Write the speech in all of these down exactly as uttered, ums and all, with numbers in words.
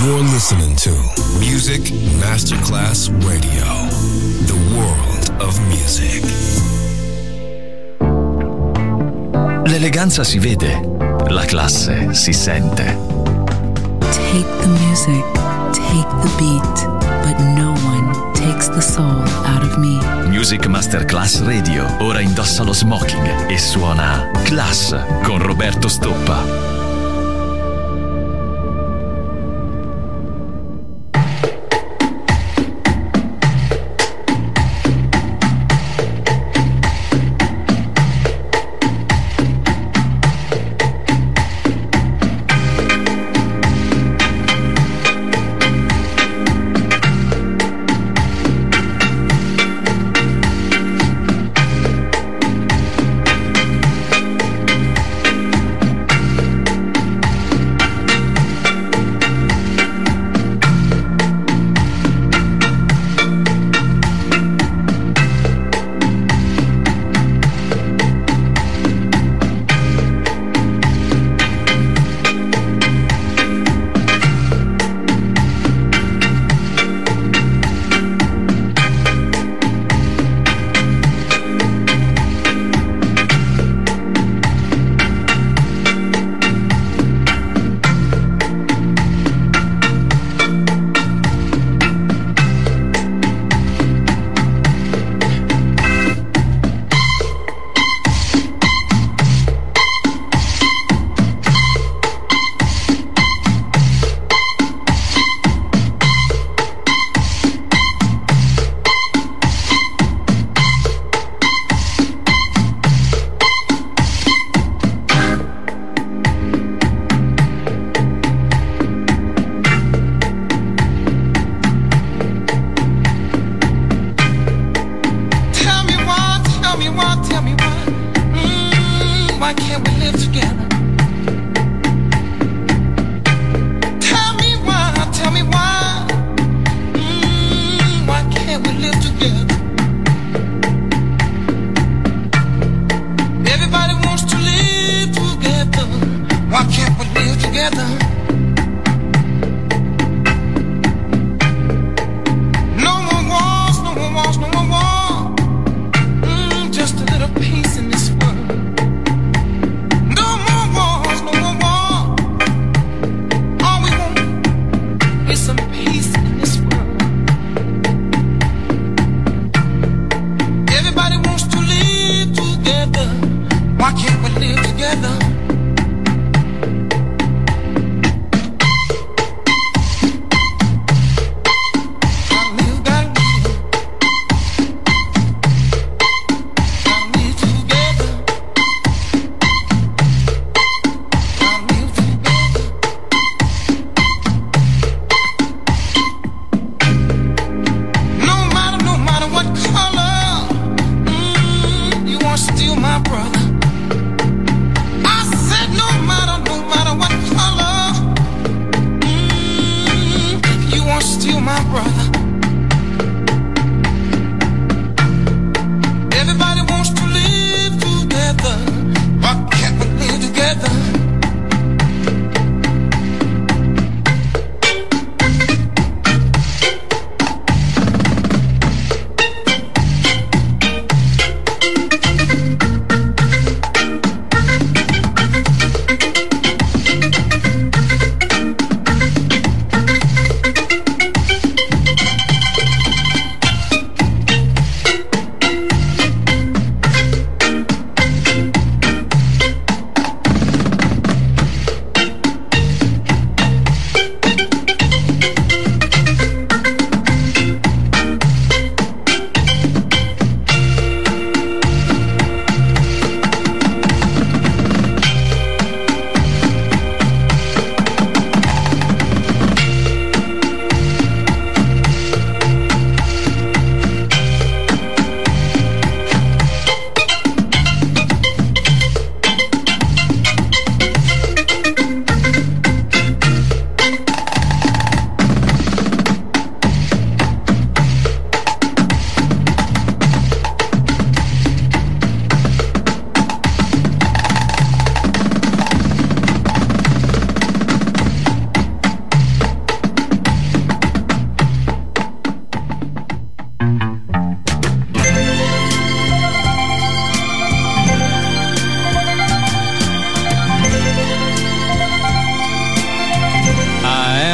You're listening to Music Masterclass Radio, the world of music. L'eleganza si vede, la classe si sente. Take the music, take the beat, but no one takes the soul out of me. Music Masterclass Radio ora indossa lo smoking e suona Class con Roberto Stoppa.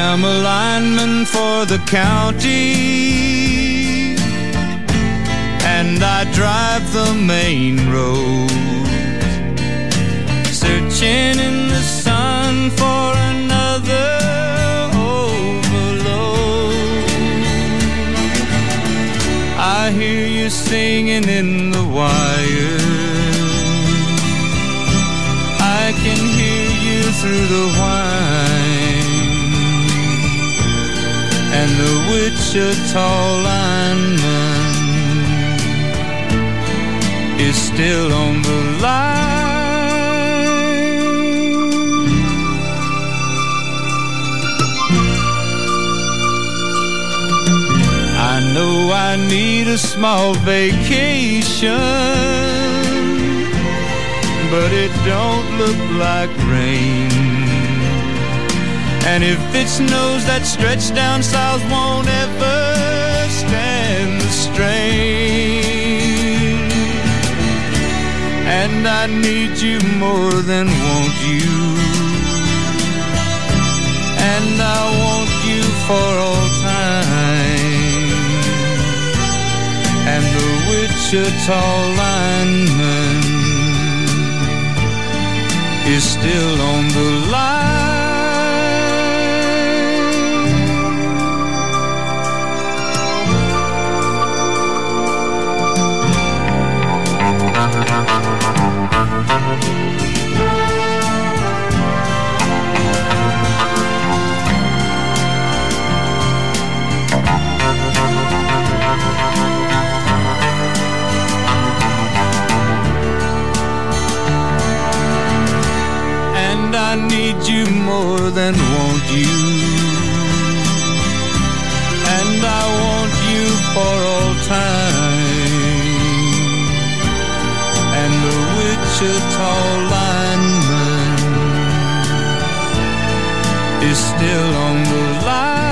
I'm a lineman for the county, and I drive the main road, searching in the sun for another overload. I hear you singing in the wire, I can hear you through the whine, and the Wichita lineman is still on the line. I know I need a small vacation, but it don't look like rain. And if it snows, that stretch down south won't ever stand the strain. And I need you more than want you, and I want you for all time. And the Wichita lineman is still on the line. And I need you more than want you, and I want you for all time. And the Wichita lineman is still on the line.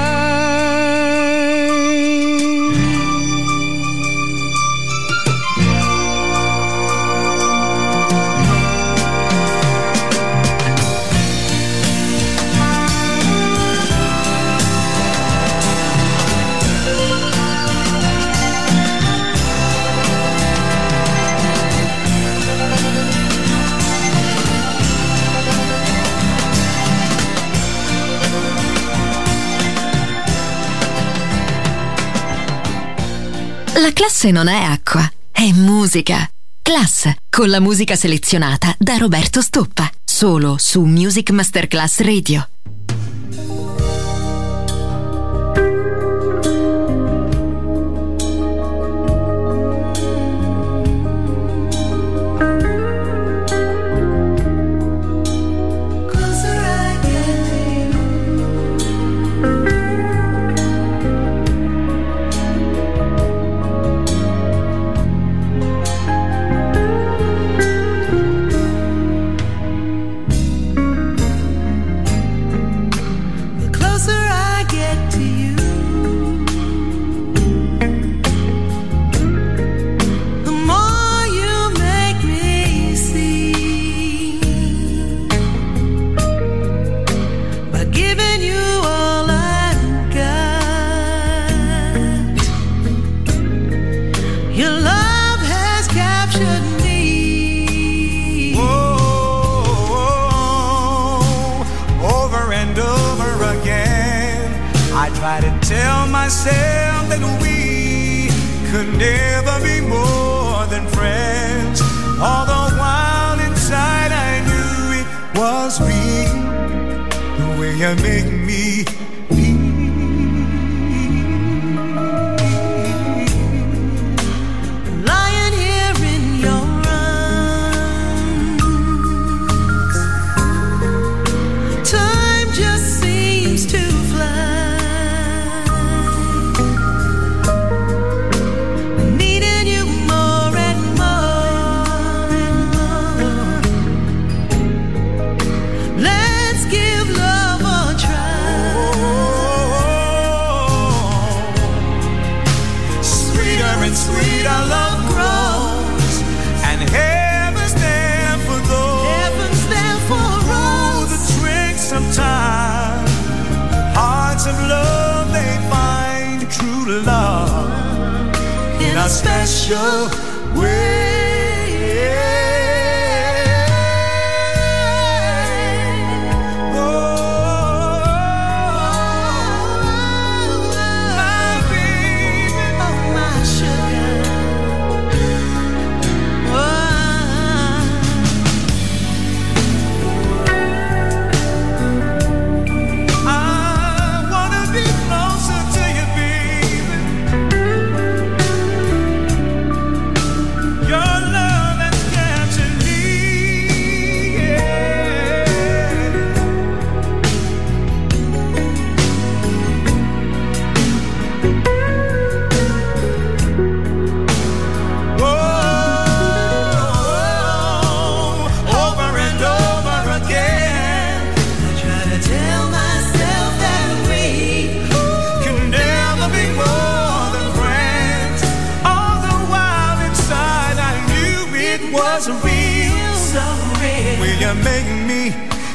La classe non è acqua, è musica. Class, con la musica selezionata da Roberto Stoppa, solo su Music Masterclass Radio. Let's give love a try. a special way. You're making me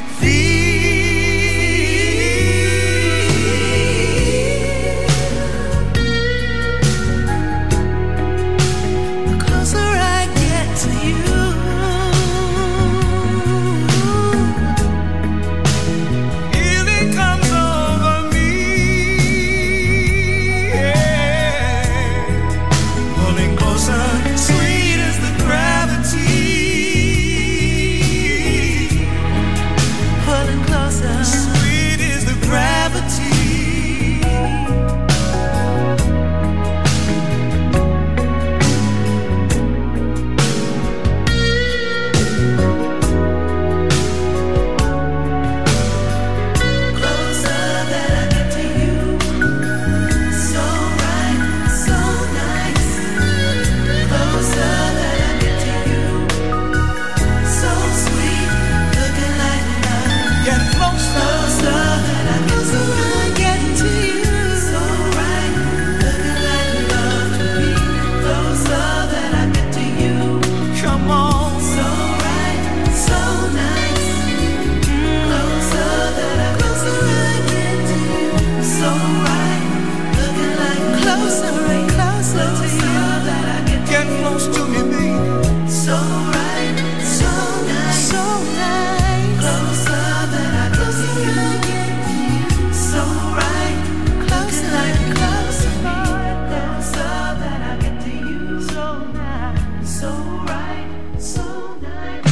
feel. The closer I get to you, feeling comes over me, yeah. Pulling closer, sweet as the gravity. Sweet is the gravity. Closer that I get to you, so right, so nice. Closer that I get to you, so sweet, looking like love. Get closer, that I closer I get to you, so right, looking like love to me. Closer that I get to you, come on, so right, so nice. Closer that I closer I get to you, so right, looking like closer and closer to you. That I get, get close to me, baby. So right, so nice, so nice. Closer that I closer I get to you, so right, closer like closer, closer that I get to you, so nice, so right, so nice.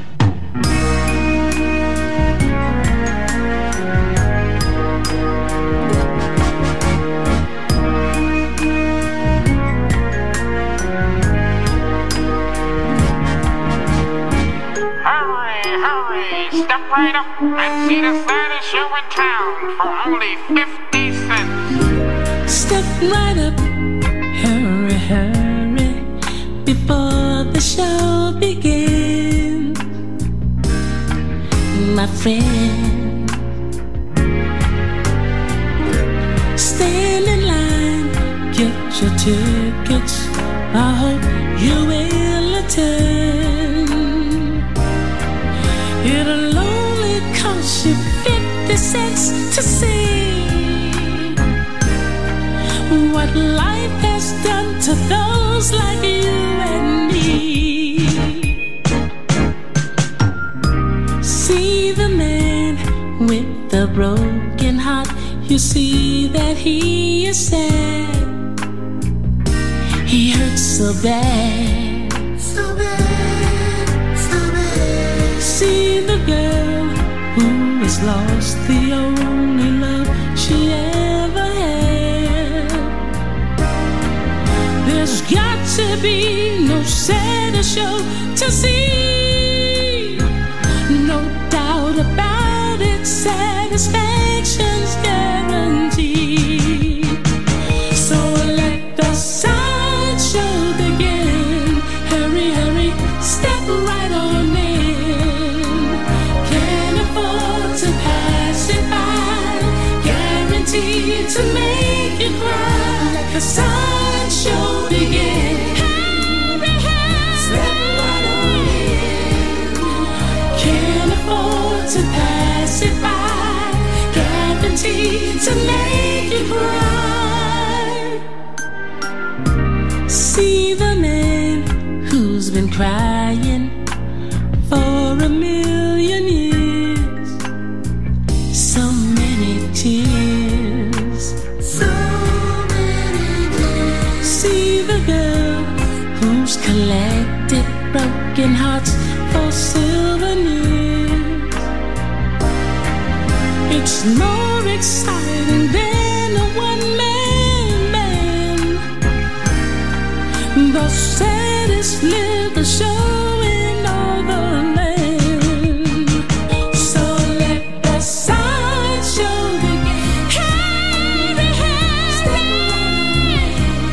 Hurry, hurry, step right up and see the saddest show in town for only fifty cents. Step right up, hurry, hurry, before the show begins. My friend, stand in line, get your tickets. I hope you will attend. It'll only cost you fifty cents to see what life has done to those like you and me. See the man with the broken heart, you see that he is sad. He hurts so bad, so bad, so bad. See the girl who has lost the only love she ever had. There's got to be no sadder show to see. No doubt about it, satisfaction's guaranteed. So let the sideshow begin. Hurry, hurry, step right on in. Can't afford to pass it by, guaranteed to make you cry. Let the sideshow begin. Hurry, hurry, step right on in. Can't afford to pass it by, guaranteed to make you cry. See crying for a million years. So many tears. So many tears. See the girl who's collected broken hearts for souvenirs. It's more exciting than a one-man band. The saddest little show in all the land. So let the sideshow begin. Hurry, hurry.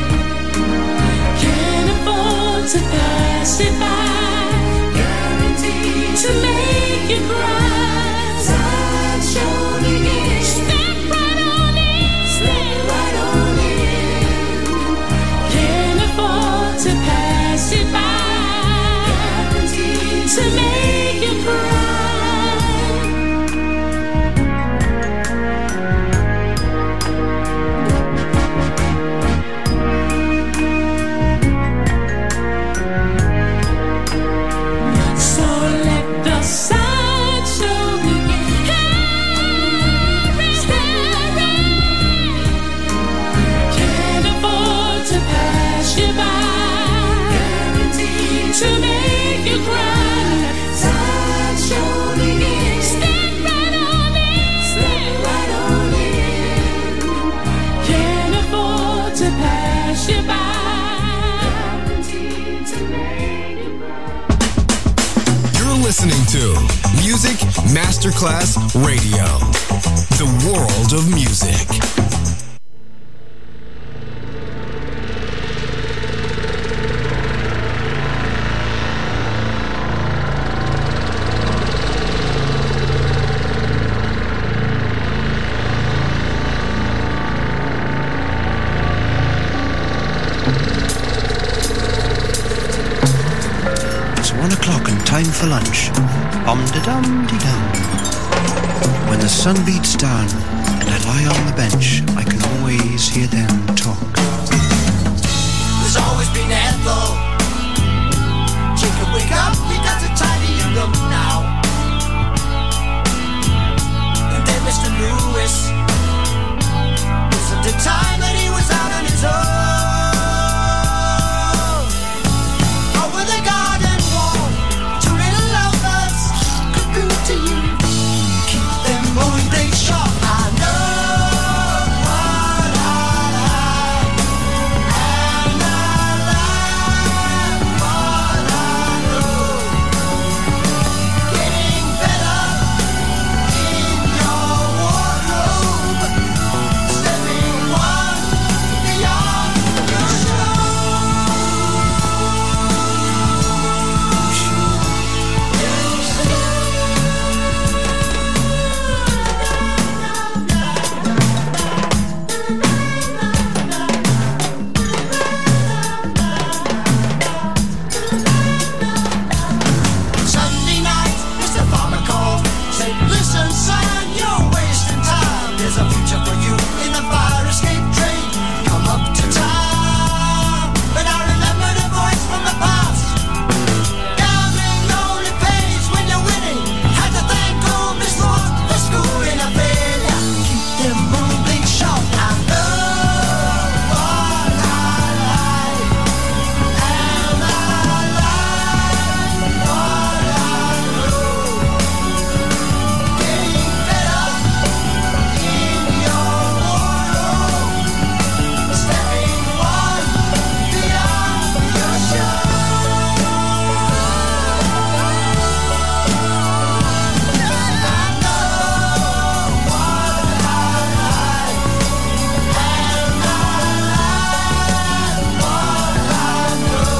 Can't afford to pass it by. Guaranteed to make you cry. Sideshow begin. Step right on in. Step right on in. Can't afford to pass it by. Guaranteed to make you cry. So let the sideshow begin. Hurry, hurry. Can't afford to pass you by. Guaranteed to make you cry. Sideshow begin. Step right on in. Step right on in. Can't afford to pass you by. Guaranteed to make you cry. You're listening to Music Masterclass Radio, the world of music. It's one o'clock and time for lunch. Om-de-dum-de-dum. When the sun beats down and I lie on the bench, I can always hear them talk. There's always been Ethel. Jacob, wake up, we got to tidy your room now. And then Mister Lewis. Wasn't the time that he was out on his own. Over the garden wall, two little lovebirds cuckoo to you. Keep them moving, they sharp. I know what I like, and I like what I know. Getting better in your wardrobe, stepping one beyond your Sunday night, Mister Farmer called, said, listen son, you're wasting time. There's a future for you in the fire escape train. Come up to town. But I remember the voice from the past. Gambling lonely pays when you're winning. Had to thank old Miss Lord for schooling a failure. Keep them moving sharp. I know what I like, and I like what I know. Getting better in your wardrobe, stepping one beyond your show. I know what I like, and I like what I know.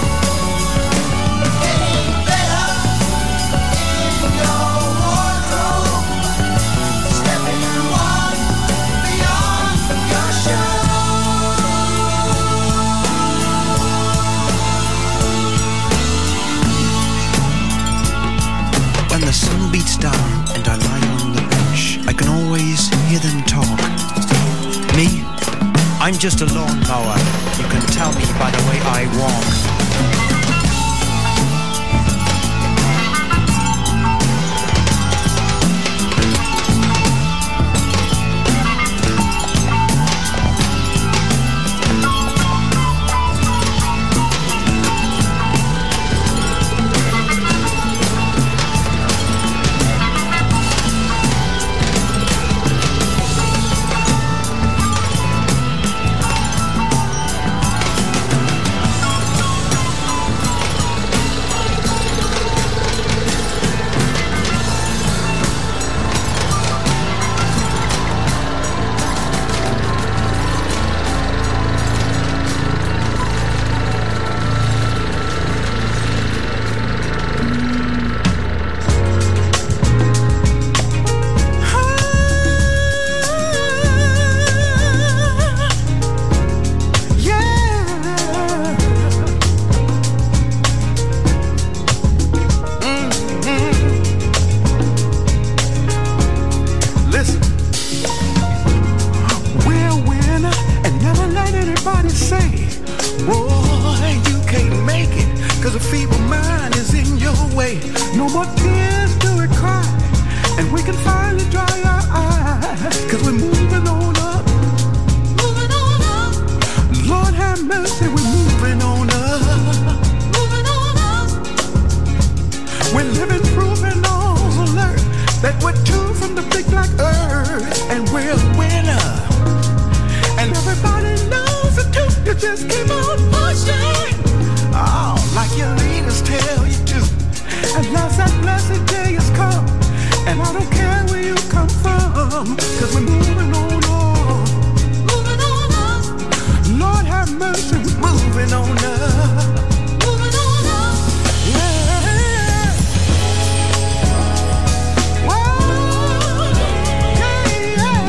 Getting better in your wardrobe, stepping one beyond your show. When the sun beats down and I lie on the bench, I can always hear them talk. Me? I'm just a lawnmower. You can tell me by the way I walk. cause a feeble mind is in your way. No more tears do we cry, and we can finally dry our eyes, cause we're moving on up. Moving on up. Lord have mercy, we're moving on up. Moving on up. We're living proof and all alert that we're two from the big black earth, and we're a winner. And everybody knows the truth, you just keep on pushing. Oh, like your leaders tell you to. At last that blessed day has come, and I don't care where you come from, cause we're moving on up. Moving on up. Lord have mercy, we're moving on up. Moving on up. Yeah. Whoa. Yeah, yeah.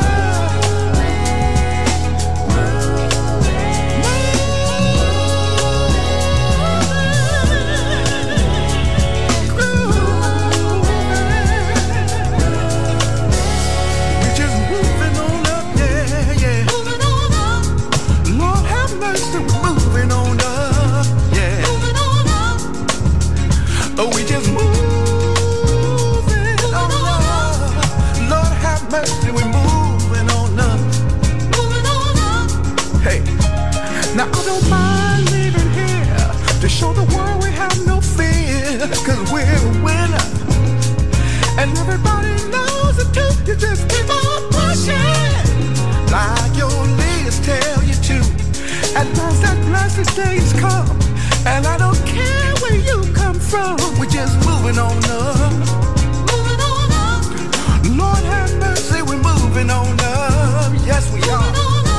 Oh, we just moving on up. Lord have mercy, we're moving on up. Moving on up. Hey, now I don't mind leaving here to show the world we have no fear, cause we're a winner. And everybody knows the truth, you just keep on pushing, like your leaders tell you to. At last that blessed day has come, and I don't care where you come from, we're just moving on up. Moving on up. Lord have mercy, we're moving on up. Yes, we are.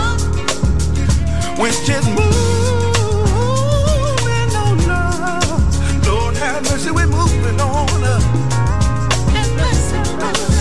We're just moving on up. Lord have mercy, we're moving on up. And bless you.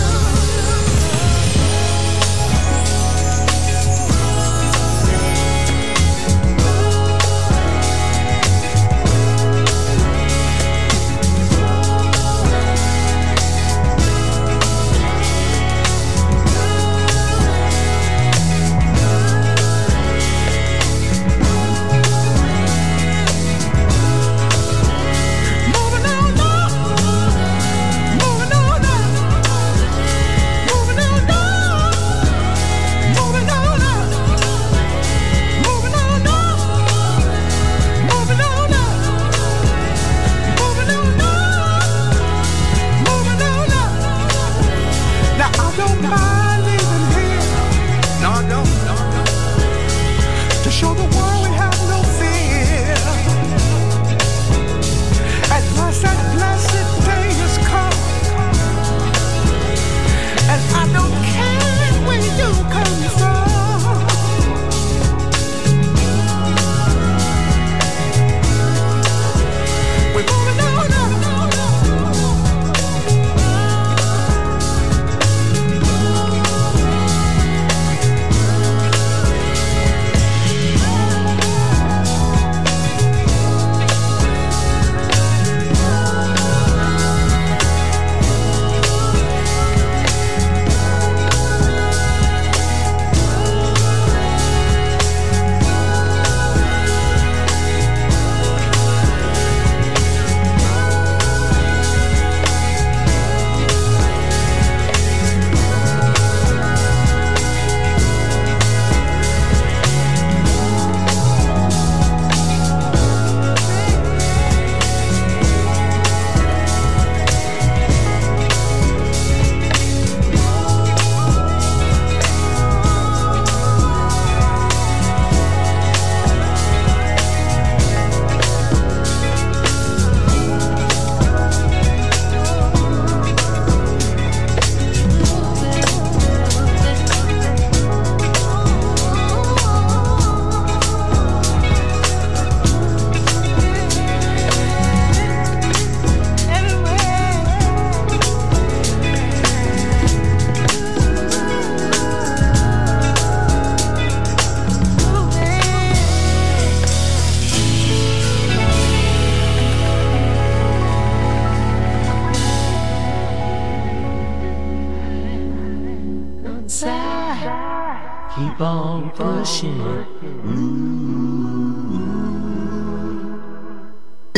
keep on pushing.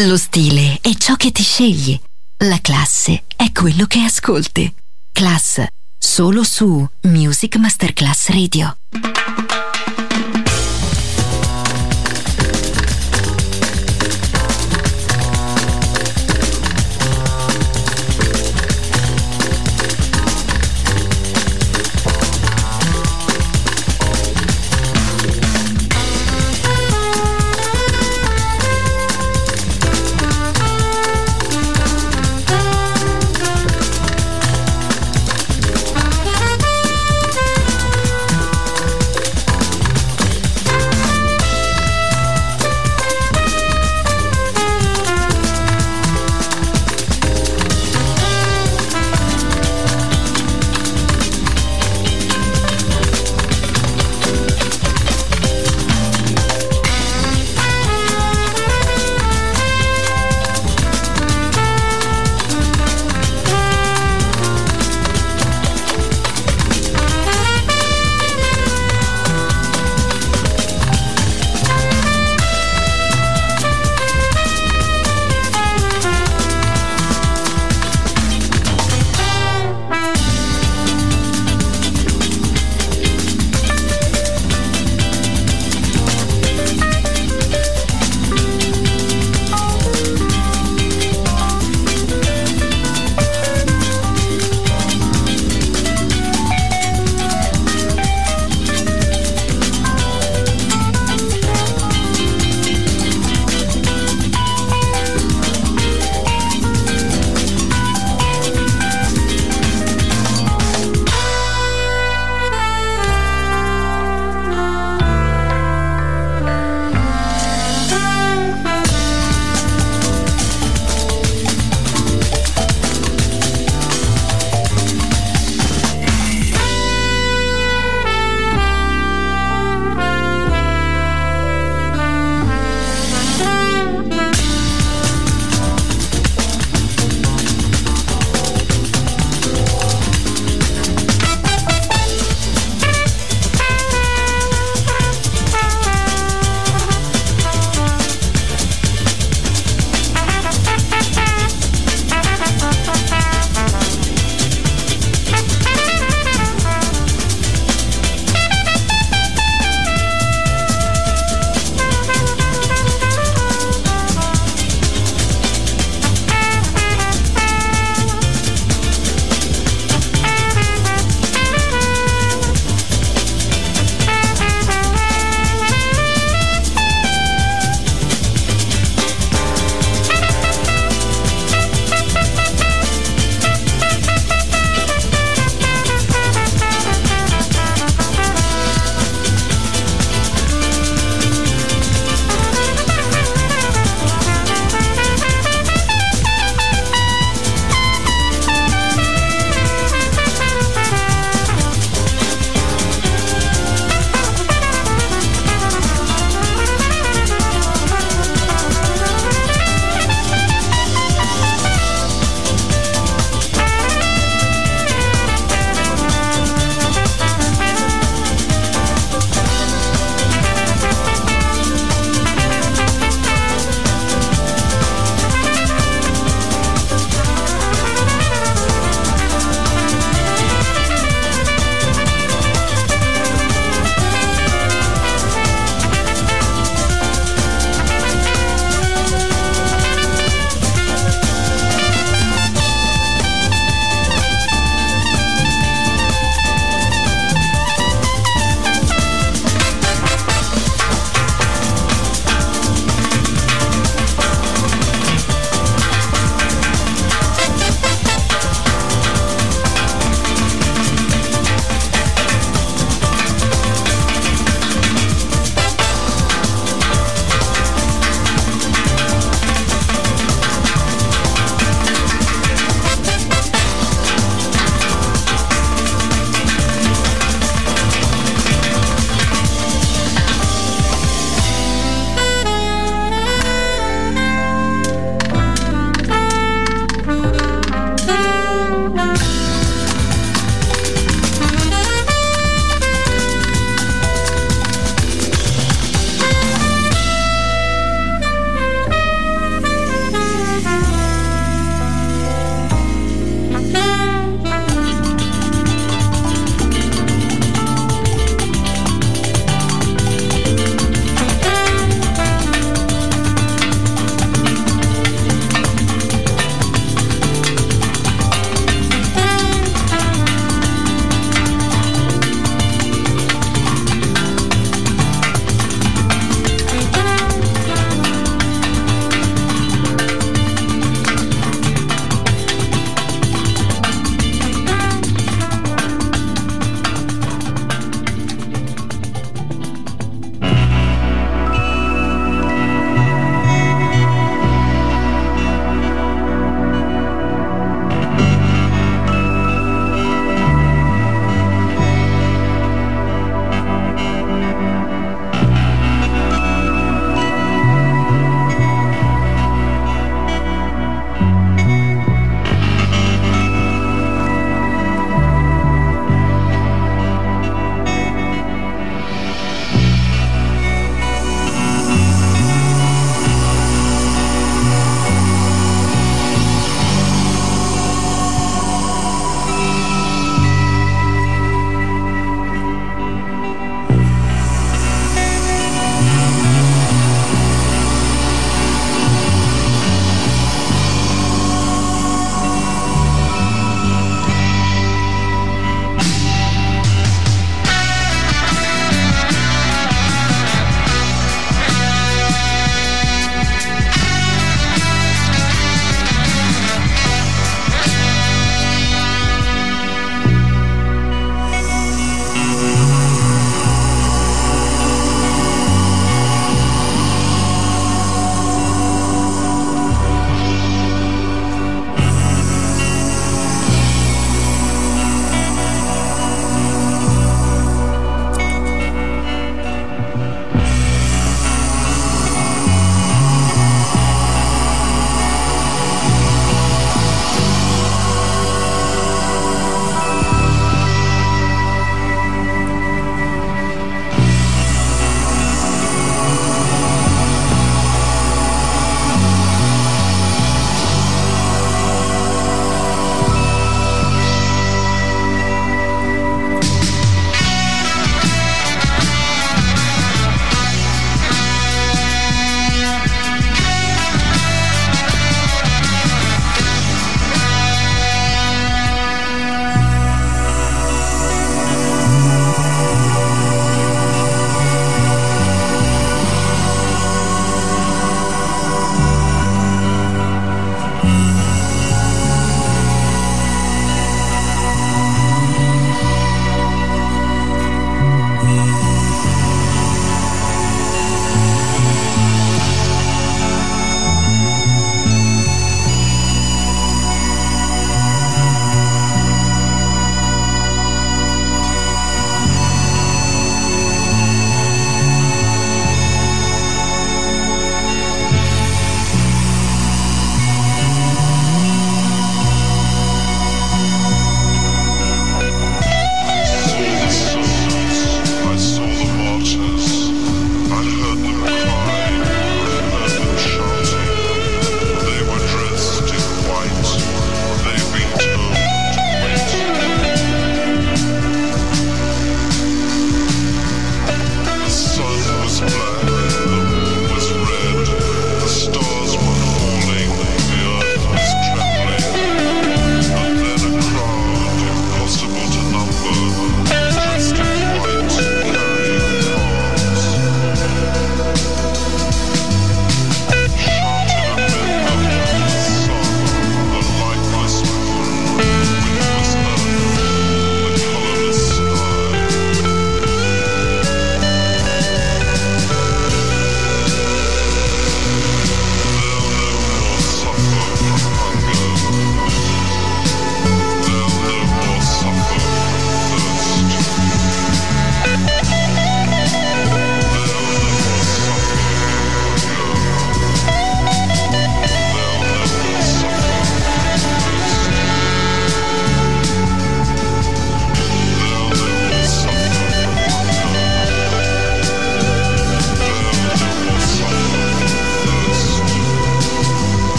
Lo stile è ciò che ti scegli. La classe è quello che ascolti. Class, solo su Music Masterclass Radio.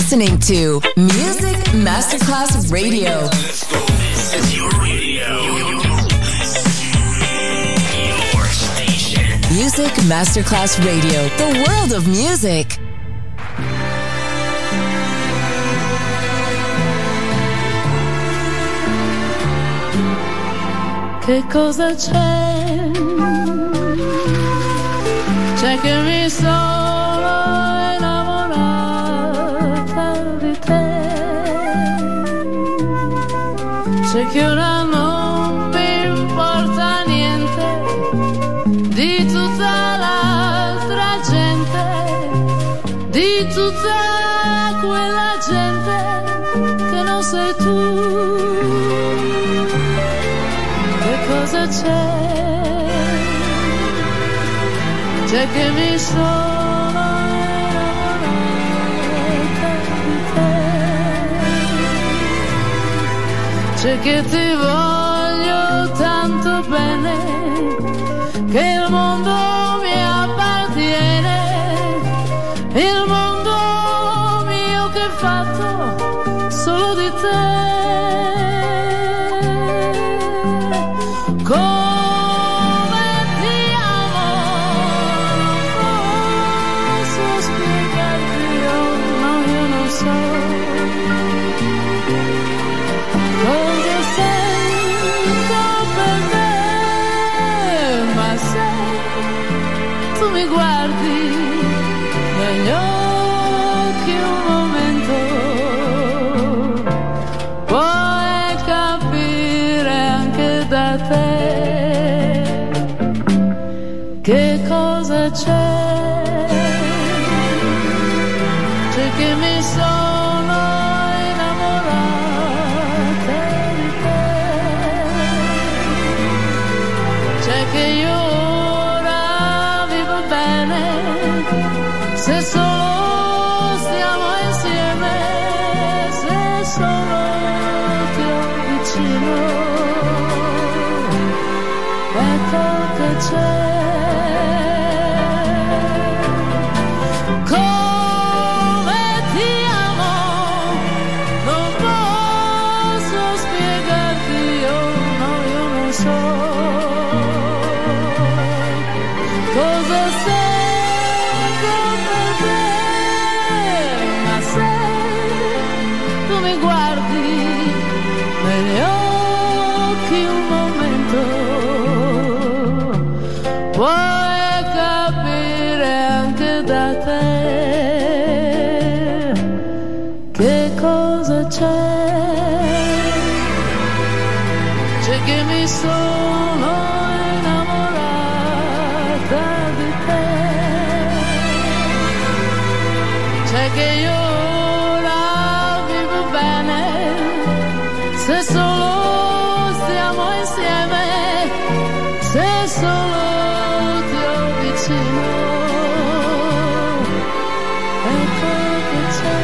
listening to Music Masterclass Radio. Let's go. This is your radio. Your station. Music Masterclass Radio, the world of music. Che cosa c'è? C'è che mi sono innamorata di te. C'è che ora non mi importa niente di tutta l'altra gente, di tutta quella gente che non sei tu. Cosa c'è? C'è che mi sono innamorata di te. C'è che ti voglio tanto bene che il mondo mi appartiene, il mondo mio che è fatto solo di te. Mi guardi negli occhi un momento, puoi capire anche da te che cosa c'è. C'è che mi sono innamorata di te. C'è che io se solo stiamo insieme, se solo ti ho vicino, ecco che c'è. Come ti amo, non posso spiegarti, io no, io non so cosa sei. Mi guardi negli occhi un momento, puoi capire anche da te che cosa c'è. C'è che mi sono innamorata di te. C'è che io se solo stiamo insieme, se solo ti ho vicino, ecco che c'è.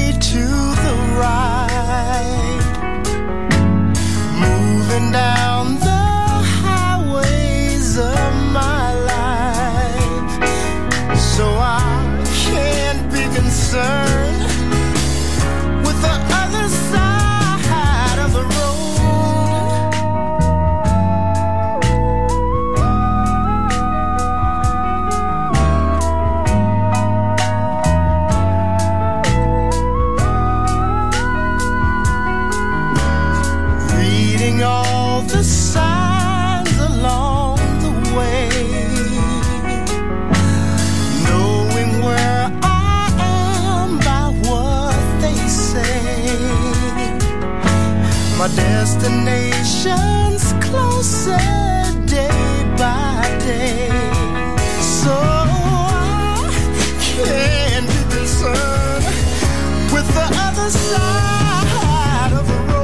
Down concerned with the other side of the road. Reading all the signs along the way, knowing where I am by what they say. My destination's closer day by day, so I can't be concerned with the other side of the road.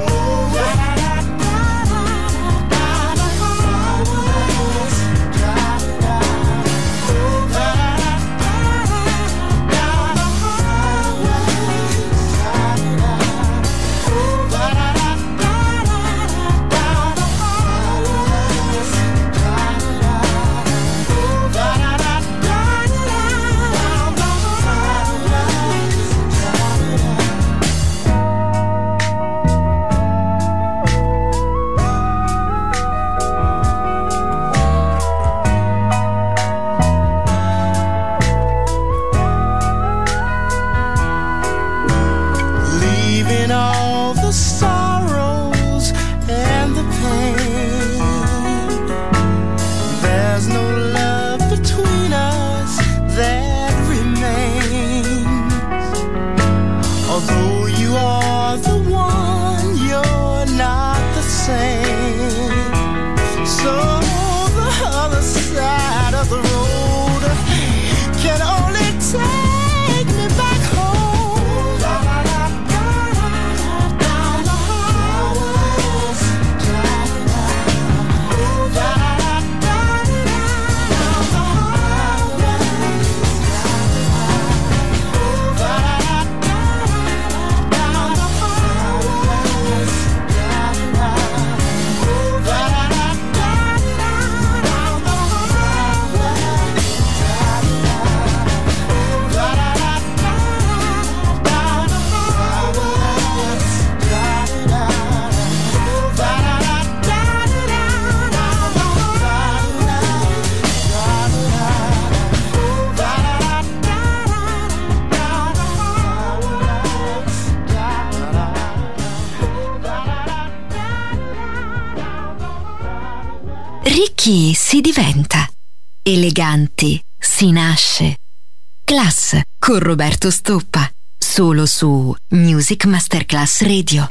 Leaving all the sorrows and the pain, there's no love between us that remains. Although you are the one, you're not the same. So the other side of the road can only take me back home. Down the highways, down the highways, down the Ricchi si diventa, eleganti si nasce. Class con Roberto Stoppa, solo su Music Masterclass Radio.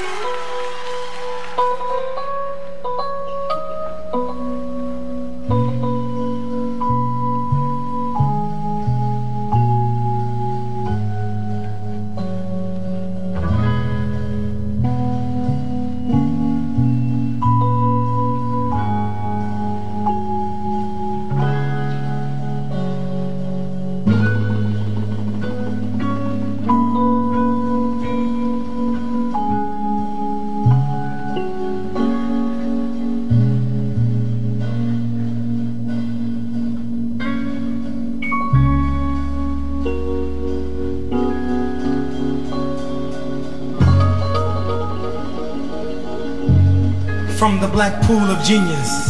From the black pool of genius,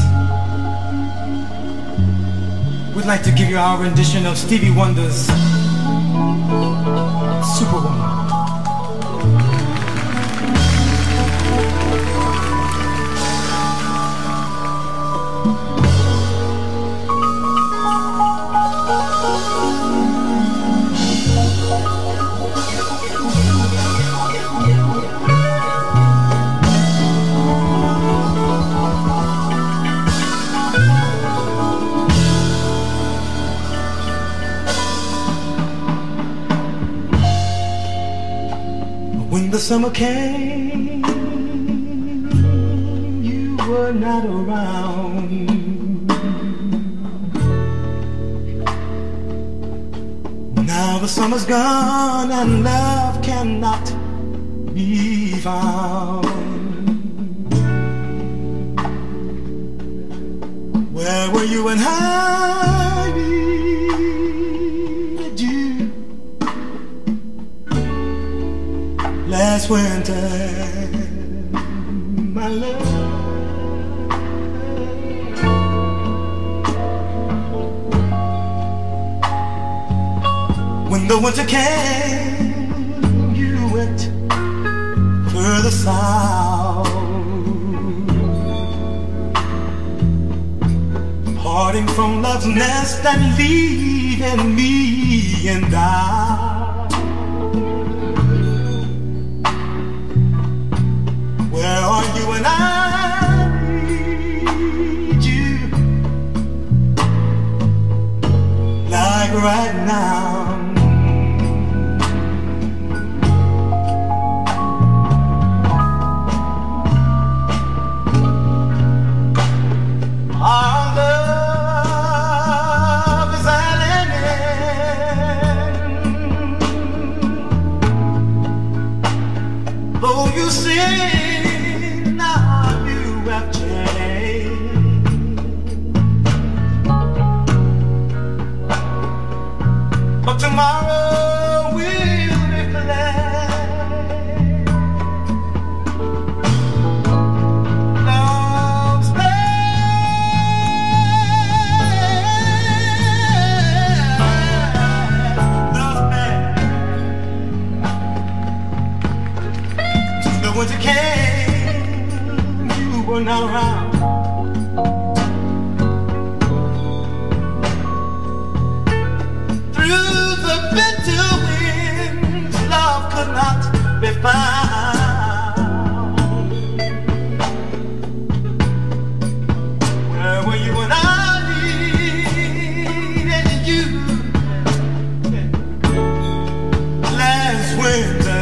we'd like to give you our rendition of Stevie Wonder's Superwoman. When the summer came, you were not around. Now the summer's gone and love cannot be found. Where were you when I needed you? last winter, my love. When the winter came, you went further south, parting from love's nest and leaving me in doubt. Where are you when I need you? Like right now. Our love is at an end. Though you say now you have changed, but tomorrow will reflect love's the winter came, you were not around. Through the bitter winds, love could not be found. Where were you when I needed you last winter?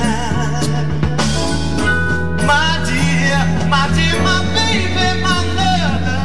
My dear, my dear, my baby, my lover.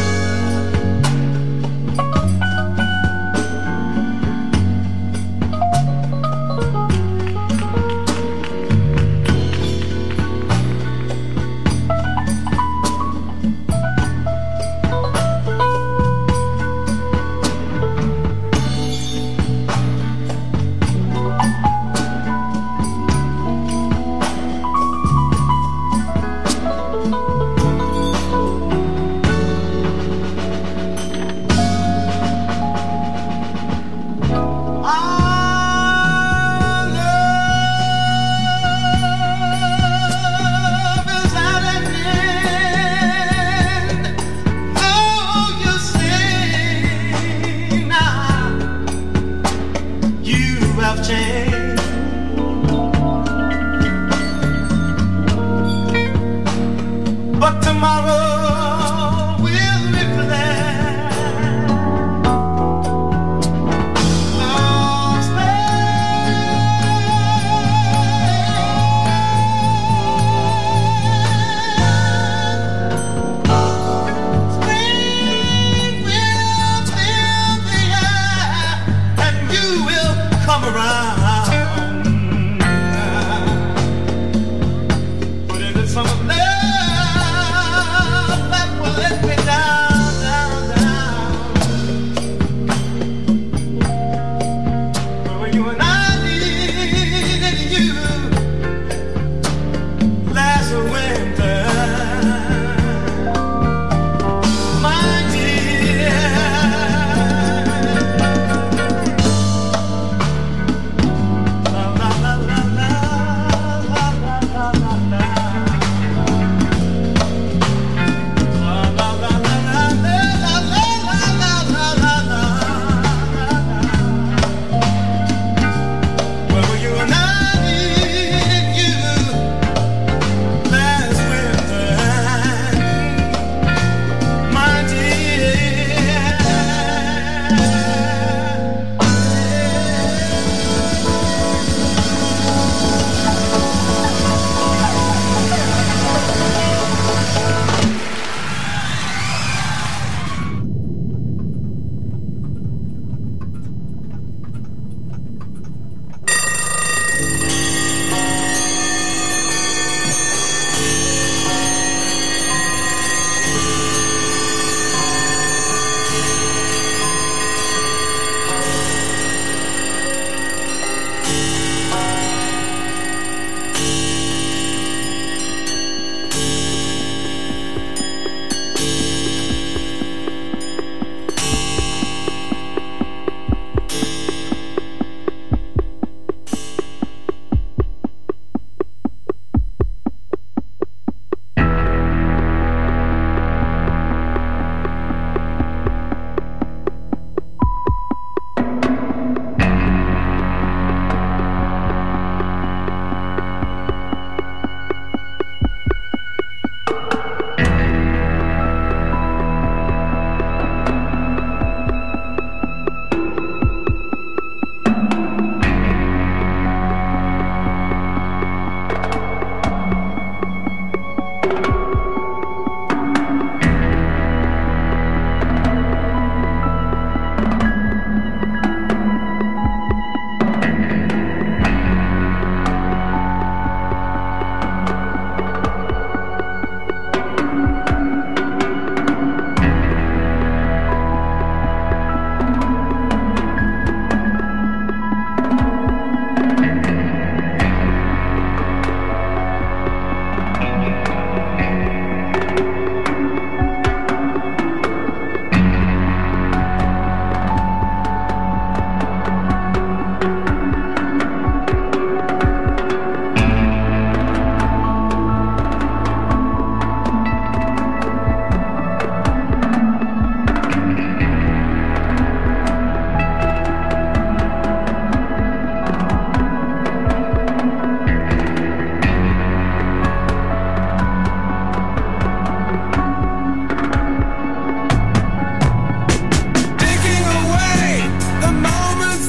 Our love is at an end. Though you say now you have changed, but tomorrow will reflect love's spring will fill the air, and you will come around.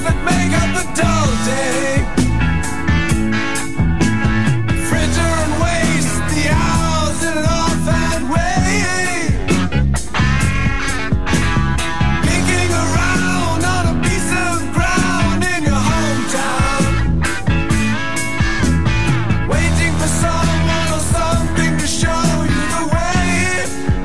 that make up the dull day. Fritter and waste the hours in an offhand way. Picking around on a piece of ground in your hometown. Waiting for someone or something to show you the way.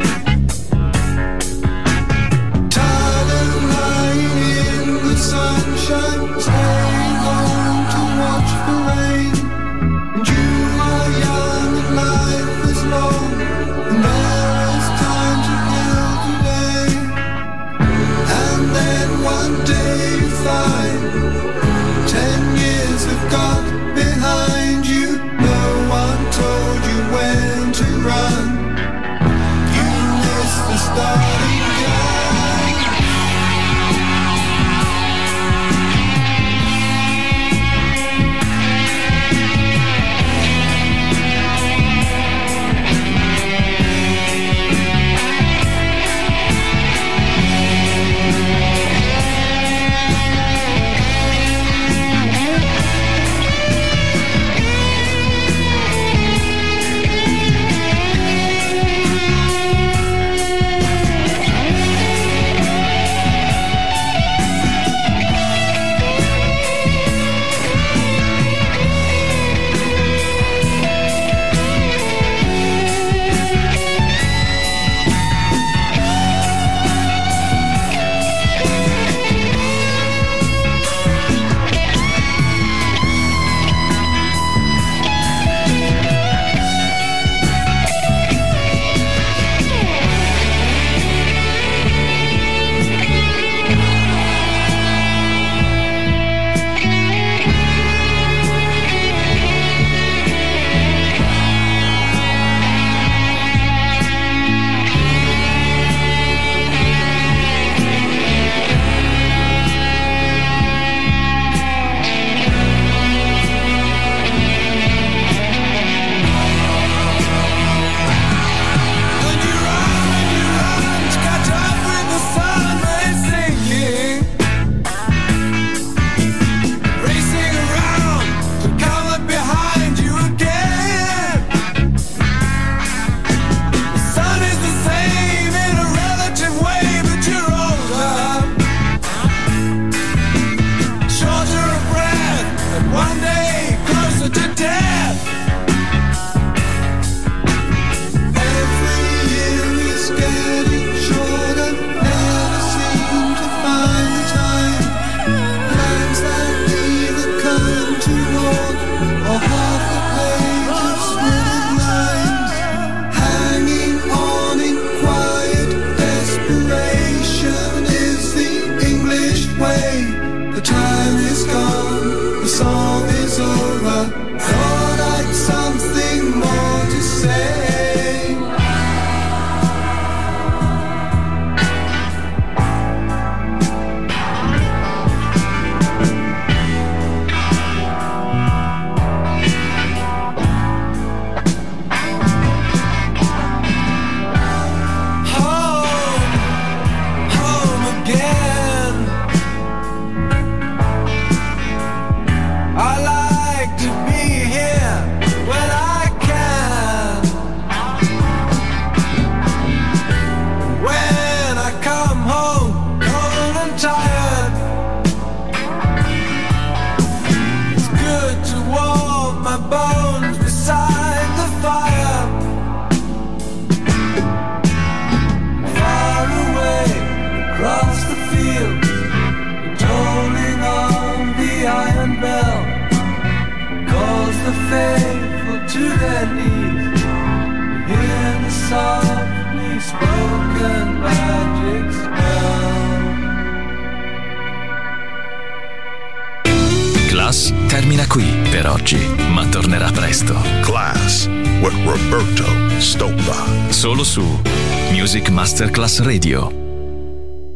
Tired of lying in the sunshine, staying home to watch the rain. And you are young and life is long, and there is time to live today. And then one day you find ten years have got behind you. No one told you when to run. You missed the starting gun. Class termina qui per oggi, ma tornerà presto. Class with Roberto Stoppa. Solo su Music Masterclass Radio.